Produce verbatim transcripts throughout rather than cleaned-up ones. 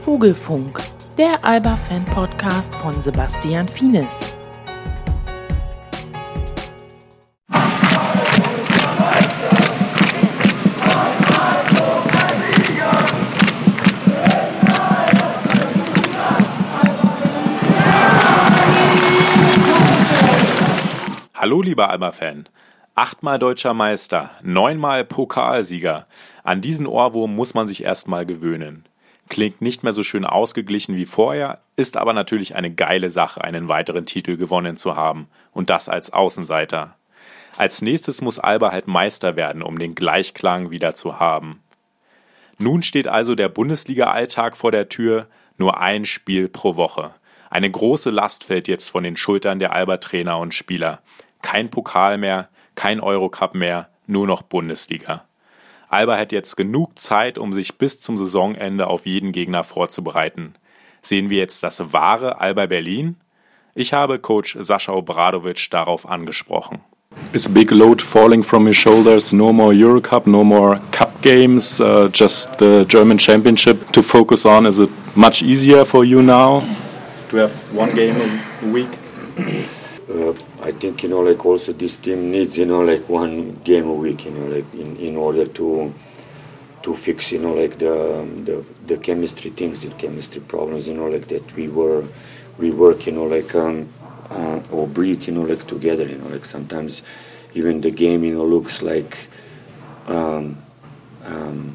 Vogelfunk, der Alba-Fan-Podcast von Sebastian Fienes. Hallo lieber Alba-Fan, achtmal deutscher Meister, neunmal Pokalsieger. An diesen Ohrwurm muss man sich erstmal gewöhnen. Klingt nicht mehr so schön ausgeglichen wie vorher, ist aber natürlich eine geile Sache, einen weiteren Titel gewonnen zu haben. Und das als Außenseiter. Als nächstes muss Alba halt Meister werden, um den Gleichklang wieder zu haben. Nun steht also der Bundesliga-Alltag vor der Tür, nur ein Spiel pro Woche. Eine große Last fällt jetzt von den Schultern der Alba-Trainer und Spieler. Kein Pokal mehr, kein Eurocup mehr, nur noch Bundesliga. Alba hat jetzt genug Zeit, um sich bis zum Saisonende auf jeden Gegner vorzubereiten. Sehen wir jetzt das wahre Alba Berlin? Ich habe Coach Sascha Obradovic darauf angesprochen. Is a big load falling from your shoulders? No more Eurocup, no more Cup games, uh, just the German Championship to focus on. Is it much easier for you now to have one game a week? Uh, I think, you know, like also this team needs, you know, like one game a week, you know, like in, in order to to fix, you know, like the the, the chemistry things, the chemistry problems, you know, like that we were we work, you know, like um, uh, or breathe, you know, like together, you know, like sometimes even the game, you know, looks like um, um,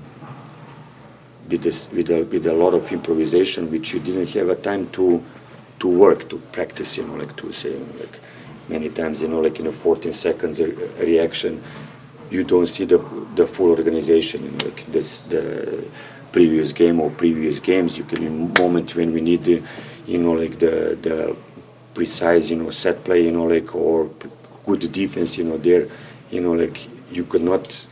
with this with a with a lot of improvisation, which you didn't have a time to. to work, to practice, you know, like to say, you know, like many times, you know, like in a fourteen seconds re- reaction, you don't see the the full organization, you know, like this, the previous game or previous games, you can, in a moment when we need, the, you know, like the the precise, you know, set play, you know, like, or good defense, you know, there, you know, like you could not,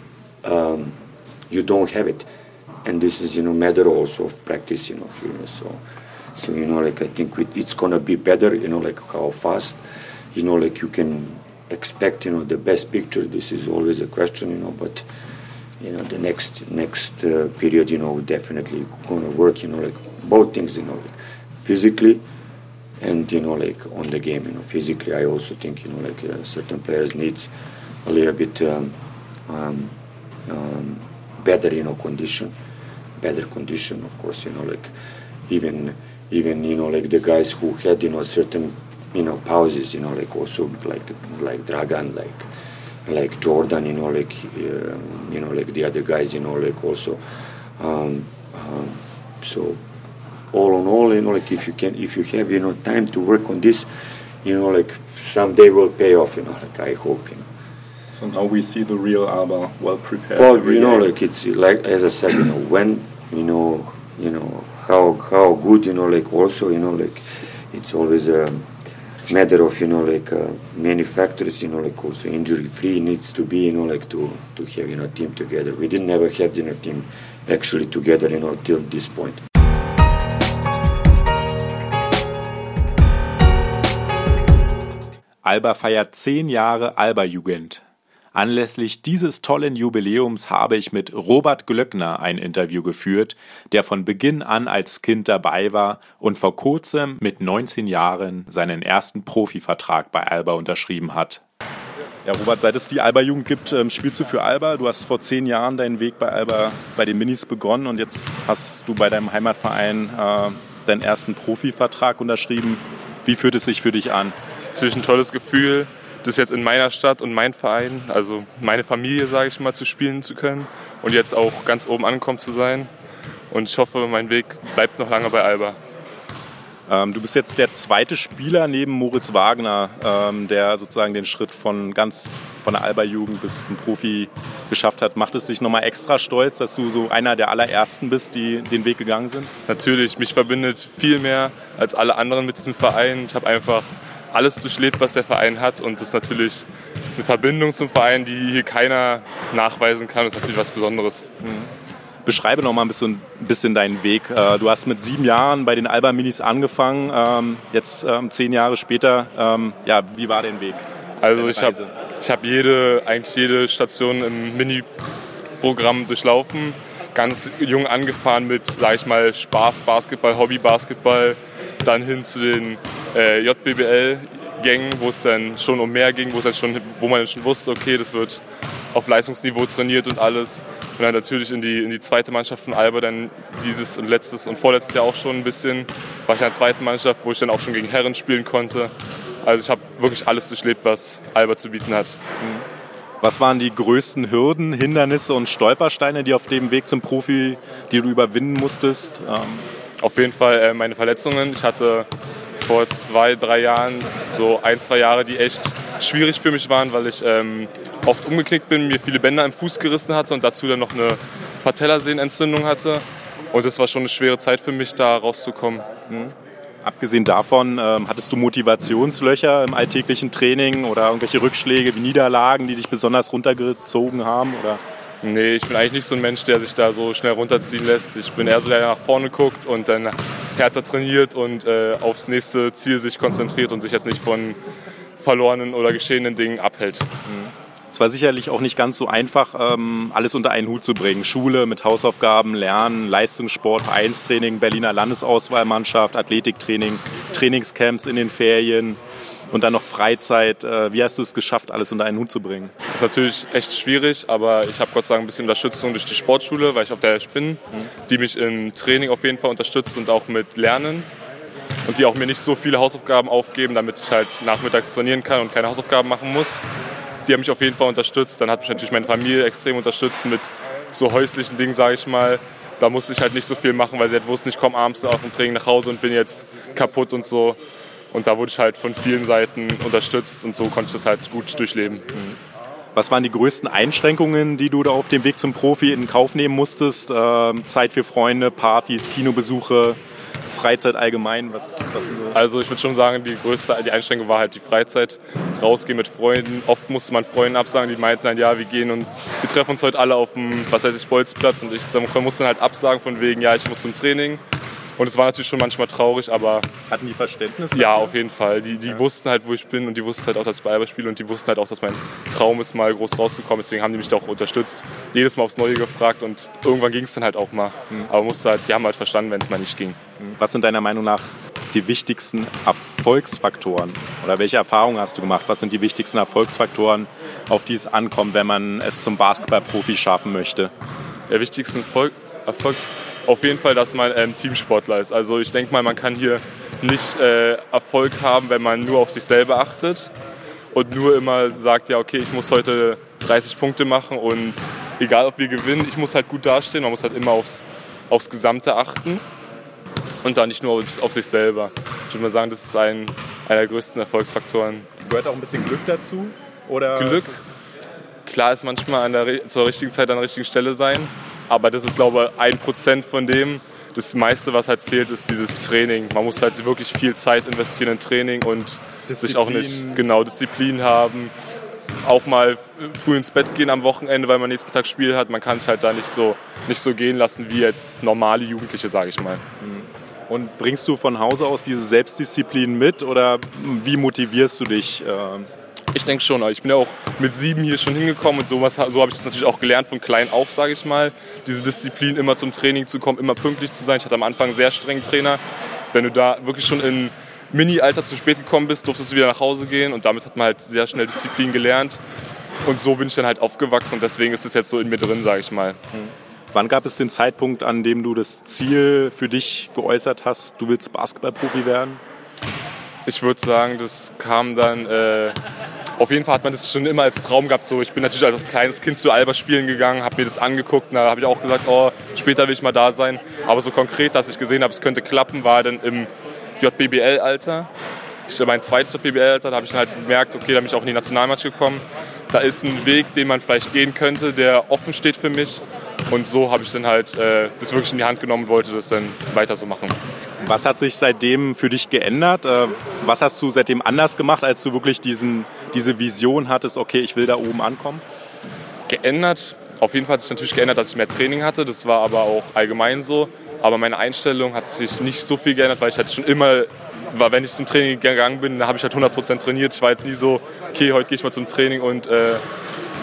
um, you don't have it. And this is, you know, matter also of practice, you know, you know so. So, you know, like I think we, it's going to be better, you know, like how fast, you know, like you can expect, you know, the best picture. This is always a question, you know, but, you know, the next next uh, period, you know, definitely going to work, you know, like both things, you know, like physically and, you know, like on the game, you know, physically I also think, you know, like uh, certain players needs a little bit um, um, um, better, you know, condition, better condition, of course, you know, like even... Even, you know, like the guys who had, you know, certain, you know, pauses, you know, like also like like Dragan, like like Jordan, you know, like uh, you know, like the other guys, you know, like also. Um, um, so, all in all, you know, like if you can, if you have, you know, time to work on this, you know, like someday will pay off, you know, like I hope, you know. So now we see the real Alba, well prepared. Well, you know, like it's like as I said, you know, when you know, you know. How how good, you know, like also, you know, like it's always a matter of, you know, like uh, many factors, you know, like also injury free needs to be, you know, like to to have, you know, team together. We didn't never have, you know, team actually together, you know, till this point. Alba feiert zehn Jahre Alba-Jugend. Anlässlich dieses tollen Jubiläums habe ich mit Robert Glöckner ein Interview geführt, der von Beginn an als Kind dabei war und vor kurzem mit neunzehn Jahren seinen ersten Profivertrag bei Alba unterschrieben hat. Ja, Robert, seit es die Alba-Jugend gibt, spielst du für Alba. Du hast vor zehn Jahren deinen Weg bei Alba, bei den Minis begonnen und jetzt hast du bei deinem Heimatverein äh, deinen ersten Profivertrag unterschrieben. Wie fühlt es sich für dich an? Das ist natürlich ein tolles Gefühl, das jetzt in meiner Stadt und mein Verein, also meine Familie, sage ich mal, zu spielen zu können und jetzt auch ganz oben angekommen zu sein. Und ich hoffe, mein Weg bleibt noch lange bei Alba. Ähm, du bist jetzt der zweite Spieler neben Moritz Wagner, ähm, der sozusagen den Schritt von ganz von der Alba-Jugend bis zum Profi geschafft hat. Macht es dich nochmal extra stolz, dass du so einer der allerersten bist, die den Weg gegangen sind? Natürlich, mich verbindet viel mehr als alle anderen mit diesem Verein. Ich habe einfach alles durchlebt, was der Verein hat, und das ist natürlich eine Verbindung zum Verein, die hier keiner nachweisen kann. Das ist natürlich was Besonderes. Mhm. Beschreibe noch mal ein bisschen, ein bisschen deinen Weg. Du hast mit sieben Jahren bei den Alba Minis angefangen, jetzt zehn Jahre später. Ja, wie war dein Weg? Also ich habe ich hab jede, eigentlich jede Station im Mini-Programm durchlaufen. ganz jung angefahren mit, sag ich mal, Spaß-Basketball, Hobby-Basketball, dann hin zu den äh, J B B L-Gängen, wo es dann schon um mehr ging, wo, es dann schon, wo man dann schon wusste, okay, das wird auf Leistungsniveau trainiert und alles. Und dann natürlich in die, in die zweite Mannschaft von Alba, dann dieses und letztes und vorletztes Jahr auch schon ein bisschen, war ich in der zweiten Mannschaft, wo ich dann auch schon gegen Herren spielen konnte. Also ich habe wirklich alles durchlebt, was Alba zu bieten hat. Was waren die größten Hürden, Hindernisse und Stolpersteine, die auf dem Weg zum Profi, die du überwinden musstest? Ähm Auf jeden Fall äh, meine Verletzungen. Ich hatte vor zwei, drei Jahren so ein, zwei Jahre, die echt schwierig für mich waren, weil ich ähm, oft umgeknickt bin, mir viele Bänder im Fuß gerissen hatte und dazu dann noch eine Patellasehnenentzündung hatte. Und das war schon eine schwere Zeit für mich, da rauszukommen. Mhm. Abgesehen davon, ähm, hattest du Motivationslöcher im alltäglichen Training oder irgendwelche Rückschläge wie Niederlagen, die dich besonders runtergezogen haben? Oder? Nee, ich bin eigentlich nicht so ein Mensch, der sich da so schnell runterziehen lässt. Ich bin eher so, der nach vorne guckt und dann härter trainiert und äh, aufs nächste Ziel sich konzentriert und sich jetzt nicht von verlorenen oder geschehenen Dingen abhält. Es war sicherlich auch nicht ganz so einfach, ähm, alles unter einen Hut zu bringen. Schule mit Hausaufgaben, Lernen, Leistungssport, Vereinstraining, Berliner Landesauswahlmannschaft, Athletiktraining, Trainingscamps in den Ferien und dann noch Freizeit. Äh, wie hast du es geschafft, alles unter einen Hut zu bringen? Das ist natürlich echt schwierig, aber ich habe Gott sei Dank ein bisschen Unterstützung durch die Sportschule, weil ich auf der bin, mhm. die mich im Training auf jeden Fall unterstützt und auch mit Lernen. Und die auch mir nicht so viele Hausaufgaben aufgeben, damit ich halt nachmittags trainieren kann und keine Hausaufgaben machen muss. Die haben mich auf jeden Fall unterstützt. Dann hat mich natürlich meine Familie extrem unterstützt mit so häuslichen Dingen, sage ich mal. Da musste ich halt nicht so viel machen, weil sie halt wussten, ich komme abends auf dem Training nach Hause und bin jetzt kaputt und so. Und da wurde ich halt von vielen Seiten unterstützt und so konnte ich das halt gut durchleben. Was waren die größten Einschränkungen, die du da auf dem Weg zum Profi in Kauf nehmen musstest? Ähm, Zeit für Freunde, Partys, Kinobesuche, Freizeit allgemein? Was, was so? Also ich würde schon sagen, die größte die Einschränkung war halt die Freizeit. Rausgehen mit Freunden. Oft musste man Freunden absagen, die meinten dann, ja, wir gehen uns, wir treffen uns heute alle auf dem, was weiß ich, Bolzplatz. Und ich musste dann halt absagen von wegen, ja, ich muss zum Training. Und es war natürlich schon manchmal traurig, aber... Hatten die Verständnis? Ja, auf jeden Fall. Die, die ja. wussten halt, wo ich bin und die wussten halt auch, dass ich bei Alba spiele und die wussten halt auch, dass mein Traum ist, mal groß rauszukommen. Deswegen haben die mich da auch unterstützt. Jedes Mal aufs Neue gefragt und irgendwann ging es dann halt auch mal. Mhm. Aber musste halt, die haben halt verstanden, wenn es mal nicht ging. Was sind deiner Meinung nach die wichtigsten Erfolgsfaktoren? Oder welche Erfahrungen hast du gemacht? Was sind die wichtigsten Erfolgsfaktoren, auf die es ankommt, wenn man es zum Basketballprofi schaffen möchte? Der wichtigste Erfolg, Erfolg auf jeden Fall, dass man ähm, Teamsportler ist. Also ich denke mal, man kann hier nicht äh, Erfolg haben, wenn man nur auf sich selber achtet und nur immer sagt, ja okay, ich muss heute dreißig Punkte machen und egal ob wir gewinnen, ich muss halt gut dastehen. Man muss halt immer aufs, aufs Gesamte achten und dann nicht nur auf, auf sich selber. Ich würde mal sagen, das ist ein, einer der größten Erfolgsfaktoren. Gehört auch ein bisschen Glück dazu? Oder Glück? Klar ist manchmal an der, zur richtigen Zeit an der richtigen Stelle sein. Aber das ist, glaube ich, ein Prozent von dem. Das meiste, was halt zählt, ist dieses Training. Man muss halt wirklich viel Zeit investieren in Training und Disziplin. sich auch nicht genau Disziplin haben. Auch mal früh ins Bett gehen am Wochenende, weil man nächsten Tag Spiel hat. Man kann es halt da nicht so, nicht so gehen lassen wie jetzt normale Jugendliche, sage ich mal. Und bringst du von Hause aus diese Selbstdisziplin mit oder wie motivierst du dich? Ich denke schon, ich bin ja auch mit sieben hier schon hingekommen und sowas, so habe ich das natürlich auch gelernt von klein auf, sage ich mal. Diese Disziplin, immer zum Training zu kommen, immer pünktlich zu sein. Ich hatte am Anfang einen sehr strengen Trainer. Wenn du da wirklich schon in Mini-Alter zu spät gekommen bist, durftest du wieder nach Hause gehen und damit hat man halt sehr schnell Disziplin gelernt. Und so bin ich dann halt aufgewachsen und deswegen ist es jetzt so in mir drin, sage ich mal. Wann gab es den Zeitpunkt, an dem du das Ziel für dich geäußert hast, du willst Basketballprofi werden? Ich würde sagen, das kam dann, äh, auf jeden Fall hat man das schon immer als Traum gehabt. So, ich bin natürlich als kleines Kind zu Alba spielen gegangen, habe mir das angeguckt und da habe ich auch gesagt, oh, später will ich mal da sein. Aber so konkret, dass ich gesehen habe, es könnte klappen, war dann im J B B L-Alter. Ich mein zweites J B B L-Alter, da habe ich dann halt gemerkt, okay, da bin ich auch in die Nationalmannschaft gekommen. Da ist ein Weg, den man vielleicht gehen könnte, der offen steht für mich. Und so habe ich dann halt äh, das wirklich in die Hand genommen und wollte das dann weiter so machen. Was hat sich seitdem für dich geändert? Was hast du seitdem anders gemacht, als du wirklich diesen, diese Vision hattest, okay, ich will da oben ankommen? Geändert? Auf jeden Fall hat sich natürlich geändert, dass ich mehr Training hatte. Das war aber auch allgemein so. Aber meine Einstellung hat sich nicht so viel geändert, weil ich halt schon immer, war, wenn ich zum Training gegangen bin, da habe ich halt hundert Prozent trainiert. Ich war jetzt nie so, okay, heute gehe ich mal zum Training und äh,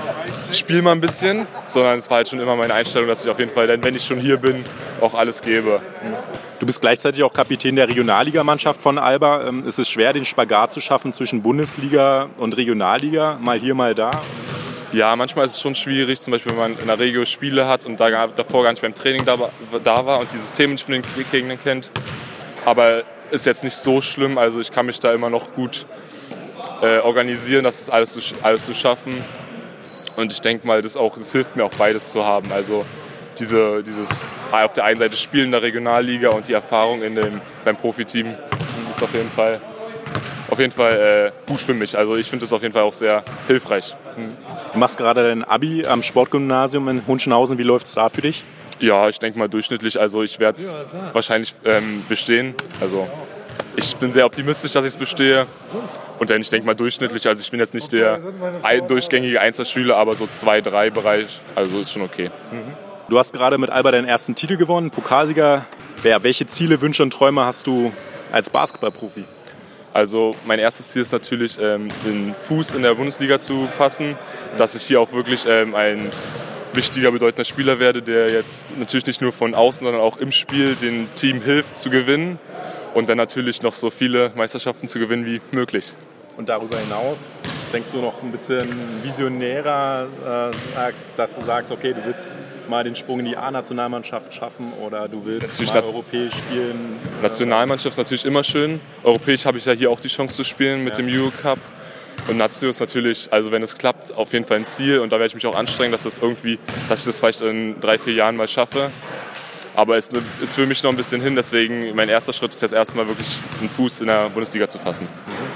spiel mal ein bisschen, sondern es war halt schon immer meine Einstellung, dass ich auf jeden Fall, denn wenn ich schon hier bin, auch alles gebe. Du bist gleichzeitig auch Kapitän der Regionalligamannschaft von Alba. Ähm, ist es schwer, den Spagat zu schaffen zwischen Bundesliga und Regionalliga? Mal hier, mal da? Ja, manchmal ist es schon schwierig, zum Beispiel wenn man in der Regio Spiele hat und da davor gar nicht beim Training da, da war und die Systeme nicht von den Gegnern kennt. Aber ist jetzt nicht so schlimm, also ich kann mich da immer noch gut äh, organisieren, das ist alles zu, alles zu schaffen. Und ich denke mal, das, auch, das hilft mir auch beides zu haben. Also diese, dieses auf der einen Seite Spielen in der Regionalliga und die Erfahrung in dem, beim Profiteam ist auf jeden Fall, auf jeden Fall äh, gut für mich. Also ich finde das auf jeden Fall auch sehr hilfreich. Mhm. Du machst gerade dein Abi am Sportgymnasium in Hunschenhausen. Wie läuft es da für dich? Ja, ich denke mal durchschnittlich. Also ich werde es ja, wahrscheinlich ähm, bestehen. Also ich bin sehr optimistisch, dass ich es bestehe. Und dann, ich denke mal durchschnittlich. Also ich bin jetzt nicht der durchgängige Einzelschüler, aber so zwei, drei Bereich. Also ist schon okay. Mhm. Du hast gerade mit Alba deinen ersten Titel gewonnen, Pokalsieger. Ja, welche Ziele, Wünsche und Träume hast du als Basketballprofi? Also mein erstes Ziel ist natürlich, ähm, den Fuß in der Bundesliga zu fassen, dass ich hier auch wirklich ähm, ein wichtiger, bedeutender Spieler werde, der jetzt natürlich nicht nur von außen, sondern auch im Spiel dem Team hilft zu gewinnen und dann natürlich noch so viele Meisterschaften zu gewinnen wie möglich. Und darüber hinaus denkst du noch ein bisschen visionärer, äh, dass du sagst, okay, du willst mal den Sprung in die A-Nationalmannschaft schaffen oder du willst natürlich mal europäisch spielen? Nationalmannschaft ist natürlich immer schön. Europäisch habe ich ja hier auch die Chance zu spielen mit ja. dem Eurocup. Und Nazio ist natürlich, also wenn es klappt, auf jeden Fall ein Ziel. Und da werde ich mich auch anstrengen, dass, das irgendwie, dass ich das vielleicht in drei, vier Jahren mal schaffe. Aber es ist für mich noch ein bisschen hin. Deswegen mein erster Schritt ist jetzt erstmal wirklich einen Fuß in der Bundesliga zu fassen. Mhm.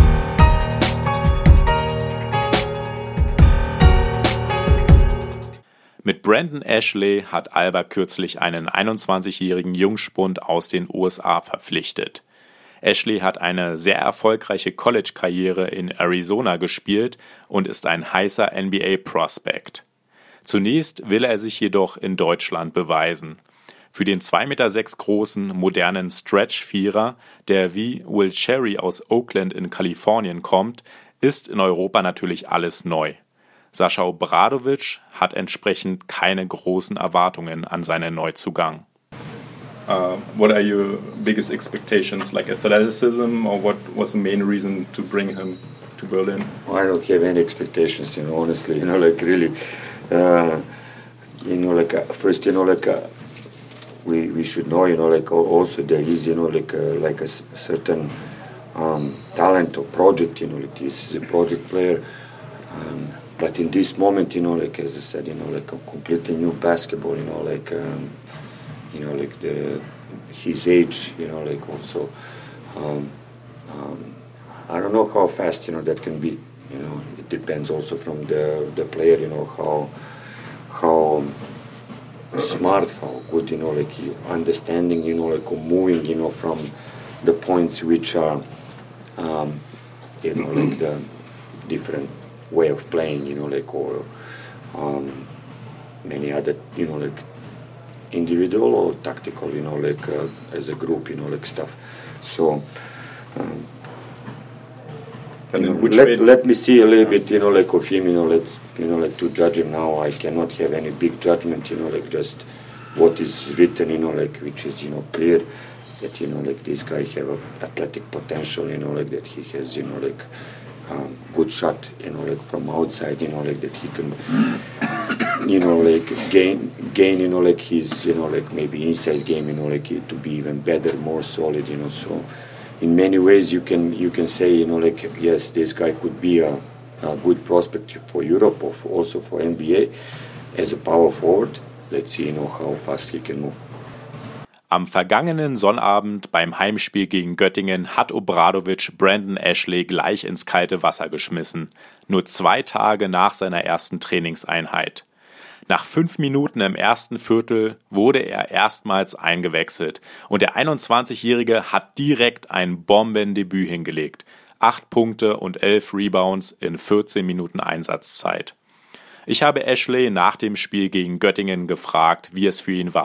Mit Brandon Ashley hat Alba kürzlich einen einundzwanzigjährigen Jungspund aus den U S A verpflichtet. Ashley hat eine sehr erfolgreiche College-Karriere in Arizona gespielt und ist ein heißer N B A-Prospect. Zunächst will er sich jedoch in Deutschland beweisen. Für den zwei Meter sechs großen, modernen Stretch-Vierer, der wie Will Cherry aus Oakland in Kalifornien kommt, ist in Europa natürlich alles neu. Sascha Obradovic hat entsprechend keine großen Erwartungen an seinen Neuzugang. Uh, what are your biggest expectations, like athleticism, or what was the main reason to bring him to Berlin? I don't have any expectations, you know, honestly, you know, like really, uh, you know, like uh, first, you know, like uh, we we should know, you know, like also there is, you know, like uh, like a certain um, talent or project, you know, like this is a project player. Um, But in this moment, you know, like as I said, you know, like a completely new basketball, you know, like, um, you know, like the his age, you know, like also, um, um, I don't know how fast, you know, that can be. You know, it depends also from the the player, you know, how how smart, how good, you know, like understanding, you know, like moving, you know, from the points which are, um, you know, like the different way of playing, you know, like, or um, many other, you know, like individual or tactical, you know, like uh, as a group, you know, like stuff. So, um, you know, let, let me see a little bit, you know, like of him, you know, let's, you know, like to judge him now. I cannot have any big judgment, you know, like just what is written, you know, like which is, you know, clear that, you know, like this guy have a athletic potential, you know, like that he has, you know, like Um, good shot, you know, like from outside, you know, like that he can, you know, like gain, gain, you know, like his, you know, like maybe inside game, you know, like to be even better, more solid, you know. So, in many ways, you can you can say, you know, like yes, this guy could be a, a good prospect for Europe or for also for N B A as a power forward. Let's see, you know, how fast he can move. Am vergangenen Sonnabend beim Heimspiel gegen Göttingen hat Obradovic Brandon Ashley gleich ins kalte Wasser geschmissen, nur zwei Tage nach seiner ersten Trainingseinheit. Nach fünf Minuten im ersten Viertel wurde er erstmals eingewechselt und der einundzwanzigjährige hat direkt ein Bombendebüt hingelegt. Acht Punkte und elf Rebounds in vierzehn Minuten Einsatzzeit. Ich habe Ashley nach dem Spiel gegen Göttingen gefragt, wie es für ihn war.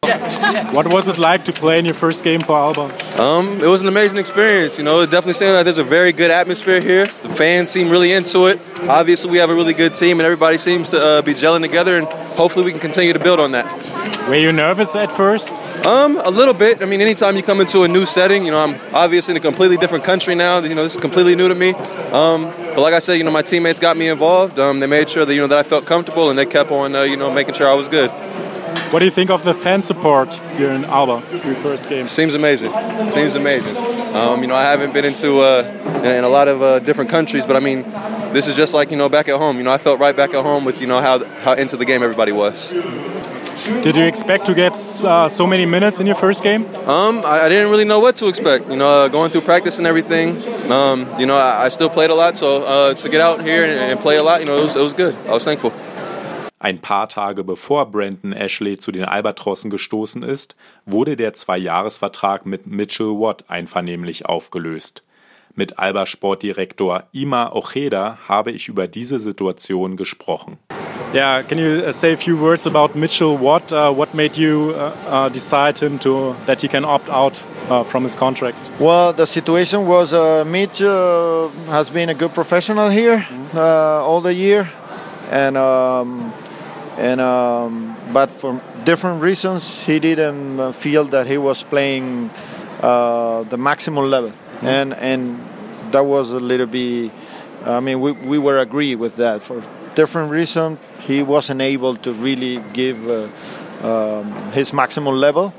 What was it like to play in your first game for Alba? Um, it was an amazing experience. You know, it definitely seems like there's a very good atmosphere here. The fans seem really into it. Obviously, we have a really good team, and everybody seems to uh, be gelling together, and hopefully we can continue to build on that. Were you nervous at first? Um, a little bit. I mean, anytime you come into a new setting, you know, I'm obviously in a completely different country now. You know, this is completely new to me. Um, but like I said, you know, my teammates got me involved. Um, they made sure that, you know, that I felt comfortable, and they kept on, uh, you know, making sure I was good. What do you think of the fan support here in Alba, your first game? Seems amazing. Seems amazing. Um, you know, I haven't been into uh, in, in a lot of uh, different countries, but I mean, this is just like, you know, back at home. You know, I felt right back at home with, you know, how how into the game everybody was. Did you expect to get uh, so many minutes in your first game? Um, I, I didn't really know what to expect. You know, uh, going through practice and everything. Um, you know, I, I still played a lot, so uh, to get out here and, and play a lot, you know, it was, it was good. I was thankful. Ein paar Tage bevor Brandon Ashley zu den Albatrossen gestoßen ist, wurde der Zwei-Jahres-Vertrag mit Mitchell Watt einvernehmlich aufgelöst. Mit Alba-Sportdirektor Ima Ojeda habe ich über diese Situation gesprochen. Yeah, can you uh, say a few words about Mitchell Watt? Uh, what made you uh, uh, decide him to that he can opt out uh, from his contract? Well, the situation was uh, Mitch uh, has been a good professional here uh, all the year, and um, and um, but for different reasons he didn't feel that he was playing uh, the maximum level, mm-hmm. and and that was a little bit. I mean, we we were agree with that for different reasons. He wasn't able to really give uh, um, his maximum level,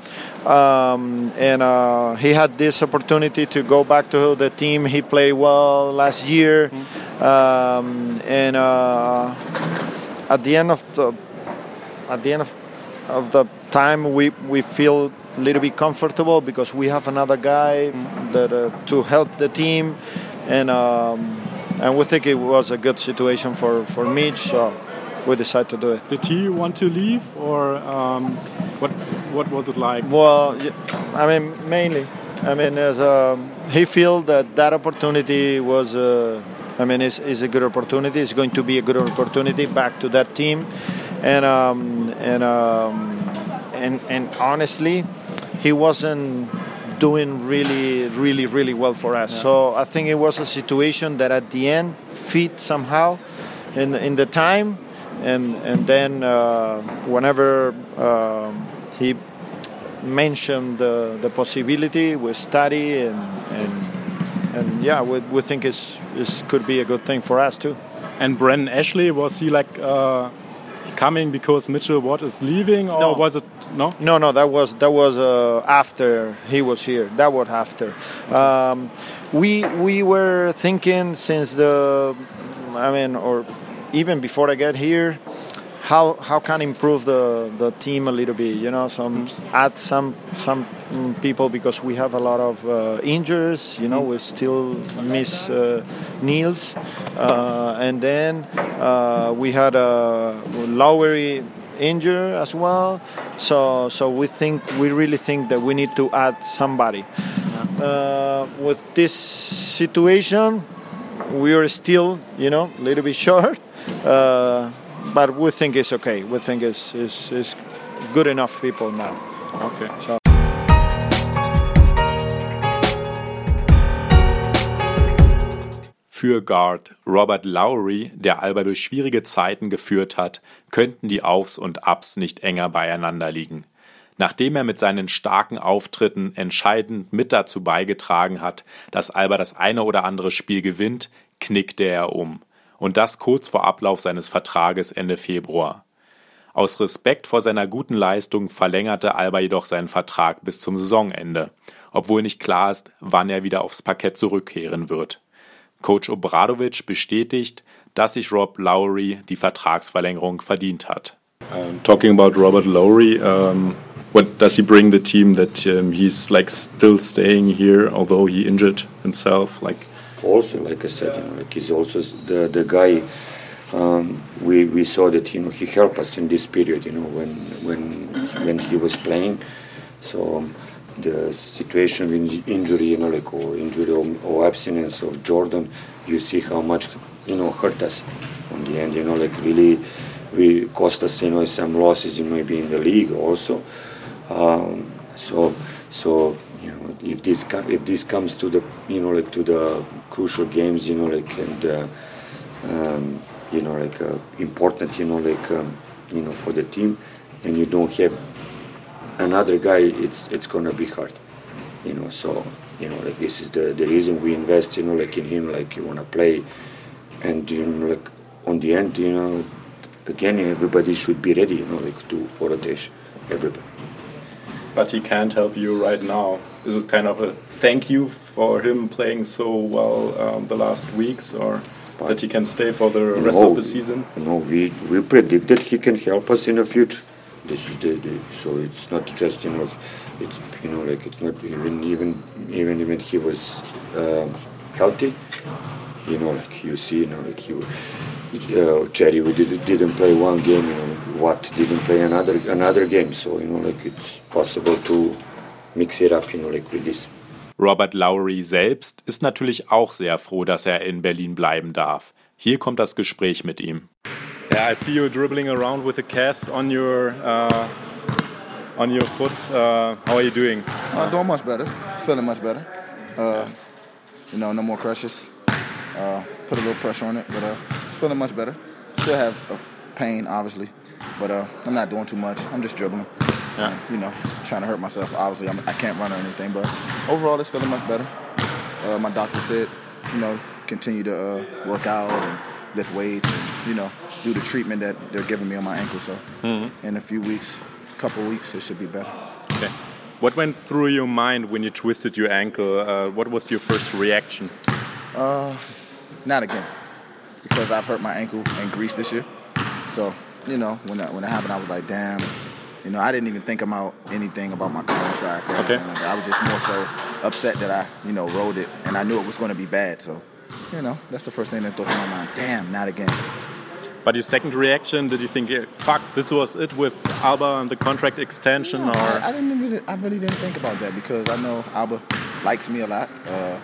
um, and uh, he had this opportunity to go back to the team. He played well last year, mm-hmm. um, and uh, at the end of the at the end of, of the time, we we feel a little bit comfortable because we have another guy mm-hmm. that uh, to help the team, and um, and we think it was a good situation for for Mitch. So we decided to do it. Did he want to leave, or um, what? What was it like? Well, I mean, mainly, I mean, as a, he felt that that opportunity was, uh, I mean, is is a good opportunity. It's going to be a good opportunity back to that team, and um, and um, and and honestly, he wasn't doing really, really, really well for us. Yeah. So I think it was a situation that at the end fit somehow in in the time. And and then uh, whenever uh, he mentioned the, the possibility, we study and and and yeah, we we think it's it could be a good thing for us too. And Brandon Ashley, was he like uh, coming because Mitchell Watt is leaving, or no. was it no? No, no, that was that was uh, after he was here. That was after. Um, we we were thinking since the, I mean, or. Even before I get here, how how can I improve the, the team a little bit? You know, some add some some people because we have a lot of uh, injuries. You know, we still miss uh, Niels, uh, and then uh, we had a Lowry injured as well. So so we think we really think that we need to add somebody. Uh, with this situation, we are still, you know, a little bit short. Uh, but we think it's okay. We think it's, it's, it's good enough people now. Okay. So. Für Guard Robert Lowry, der Alba durch schwierige Zeiten geführt hat, könnten die Aufs und Ups nicht enger beieinander liegen. Nachdem er mit seinen starken Auftritten entscheidend mit dazu beigetragen hat, dass Alba das eine oder andere Spiel gewinnt, knickte er um. Und das kurz vor Ablauf seines Vertrages Ende Februar. Aus Respekt vor seiner guten Leistung verlängerte Alba jedoch seinen Vertrag bis zum Saisonende, obwohl nicht klar ist, wann er wieder aufs Parkett zurückkehren wird. Coach Obradovic bestätigt, dass sich Rob Lowry die Vertragsverlängerung verdient hat. Um, talking about Robert Lowry, um, what does he bring the team that um, he's like still staying here, although he injured himself? Like. Also, like I said, you know, like he's also the the guy. Um, we we saw that, you know, he helped us in this period, you know, when when when he was playing. So um, the situation with injury, you know, like or injury or, or abstinence of Jordan, you see how much, you know, hurt us on the end. You know, like really, we cost us, you know, some losses, you know, maybe in the league also. Um, so so you know if this com- if this comes to the you know like to the crucial games, you know like and uh, um, you know like uh, important you know like um, you know for the team, and you don't have another guy, it's it's gonna be hard, you know. So you know like this is the the reason we invest you know like in him, like you wanna play, and you know like on the end you know again everybody should be ready you know like to for rotation, everybody. But he can't help you right now. Is it kind of a thank you for him playing so well um, the last weeks, or but that he can stay for the rest no, of the season? No, we we predict that he can help us in the future. This is the, the so it's not just you know it's you know like it's not even even even when he was um, healthy, you know like you see you know like he uh, Cherry we did, didn't play one game, you know Watt didn't play another another game, so you know like it's possible to mix it up you know like with this. Robert Lowry selbst ist natürlich auch sehr froh, dass er in Berlin bleiben darf. Hier kommt das Gespräch mit ihm. Yeah, I see you dribbling around with a cast on your uh, on your foot. Uh, how are you doing? Uh, doing much better. It's feeling much better. Uh, you know, no more crushes. Uh, put a little pressure on it, but uh, it's feeling much better. Still have uh, pain, obviously, but uh, I'm not doing too much. I'm just dribbling. Yeah. Uh, you know, trying to hurt myself. Obviously, I'm, I can't run or anything, but overall, it's feeling much better. Uh, my doctor said, you know, continue to uh, work out and lift weights and, you know, do the treatment that they're giving me on my ankle. So mm-hmm. in a few weeks, a couple weeks, it should be better. Okay. What went through your mind when you twisted your ankle? Uh, what was your first reaction? Uh, not again, because I've hurt my ankle in Greece this year. So, you know, when that, when it happened, I was like, damn. You know, I didn't even think about anything about my contract or okay. anything like that. I was just more so upset that I, you know, rode it, and I knew it was going to be bad. So, you know, that's the first thing that thought to my mind. Damn, not again. But your second reaction, did you think, fuck, this was it with Alba and the contract extension? No, or I, I didn't really, I really didn't think about that because I know Alba likes me a lot. Uh,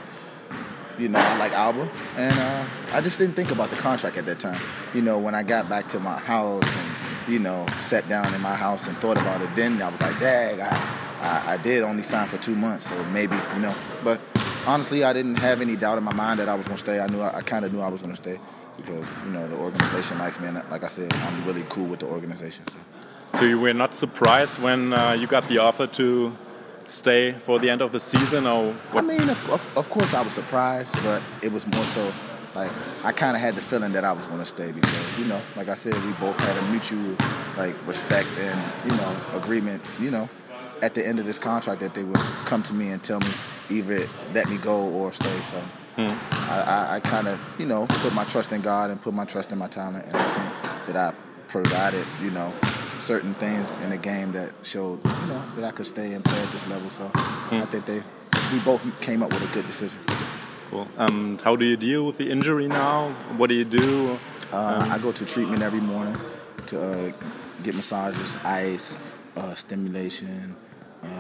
you know, I like Alba, and uh, I just didn't think about the contract at that time. You know, when I got back to my house and, you know, sat down in my house and thought about it, then I was like, dang, I, I, I did only sign for two months, so maybe, you know. But honestly, I didn't have any doubt in my mind that I was going to stay. I knew, I, I kind of knew I was going to stay because, you know, the organization likes me, and like I said, I'm really cool with the organization. So, so you were not surprised when uh, you got the offer to stay for the end of the season, or what? I mean, of, of, of course I was surprised, but it was more so like I kind of had the feeling that I was going to stay because, you know, like I said, we both had a mutual like respect and, you know, agreement, you know, at the end of this contract that they would come to me and tell me either let me go or stay. So hmm. I, I, I kind of, you know, put my trust in God and put my trust in my talent, and I think that I provided, you know, certain things in the game that showed, you know, that I could stay and play at this level. So hmm. I think they, we both came up with a good decision. Cool. Um, how do you deal with the injury now? What do you do? Uh, um, I go to treatment every morning to uh, get massages, ice, uh, stimulation. Uh,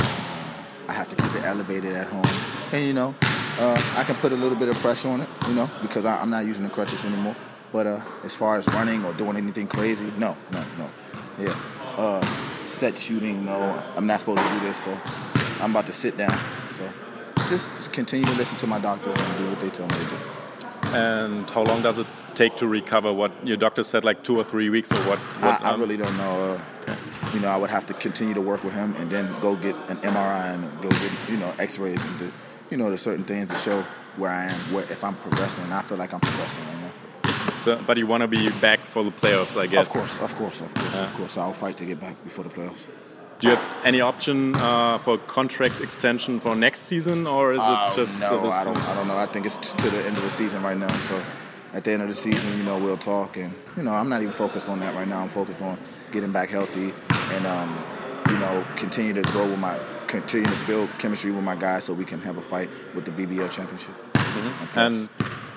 I have to keep it elevated at home. And, you know, uh, I can put a little bit of pressure on it, you know, because I, I'm not using the crutches anymore. But uh, as far as running or doing anything crazy, no, no, no. Yeah. Uh, set shooting, no, I'm not supposed to do this, so I'm about to sit down. So just, just continue to listen to my doctors and do what they tell me to do. And how long does it take to recover? What your doctor said, like two or three weeks, or what? what I, I really don't know. Uh, okay. You know, I would have to continue to work with him and then go get an M R I and go get, you know, X-rays and do, you know, there's certain things to show where I am, where if I'm progressing. I feel like I'm progressing right now. So, but you want to be back for the playoffs, I guess. Of course, of course, of course, yeah. of course. I'll fight to get back before the playoffs. Do you have any option uh, for contract extension for next season, or is uh, it just no, for this? I don't, I don't know. I think it's to the end of the season right now. So at the end of the season, you know, we'll talk. And, you know, I'm not even focused on that right now. I'm focused on getting back healthy and, um, you know, continue to grow with my, continue to build chemistry with my guys so we can have a fight with the B B L championship. Mm-hmm. And,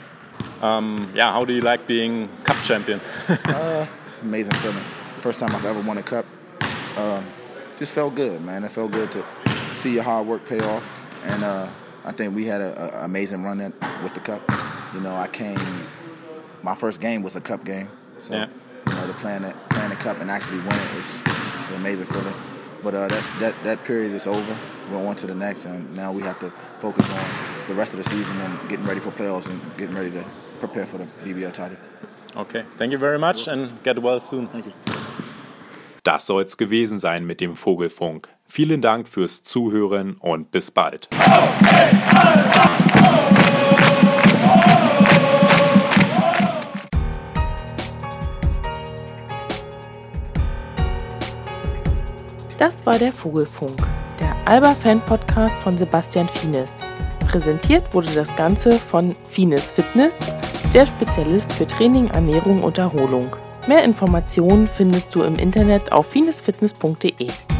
um, yeah, how do you like being cup champion? uh, amazing feeling. First time I've ever won a cup. Um, just felt good, man. It felt good to see your hard work pay off. And uh, I think we had an amazing run in, with the cup. You know, I came, my first game was a cup game. So, yeah. you know, to playing the, playing the cup and actually win it, it's, it's, it's an amazing feeling. But uh, that's, that, that period is over. We're on to the next, and now we have to focus on the rest of the season and getting ready for playoffs and getting ready to prepare for the B B L title. Okay, thank you very much and get well soon. Thank you. Das soll's gewesen sein mit dem Vogelfunk. Vielen Dank fürs Zuhören und bis bald. Das war der Vogelfunk, der Alba-Fan-Podcast von Sebastian Fienes. Präsentiert wurde das Ganze von Fienes Fitness, der Spezialist für Training, Ernährung und Erholung. Mehr Informationen findest du im Internet auf fienesfitness punkt de.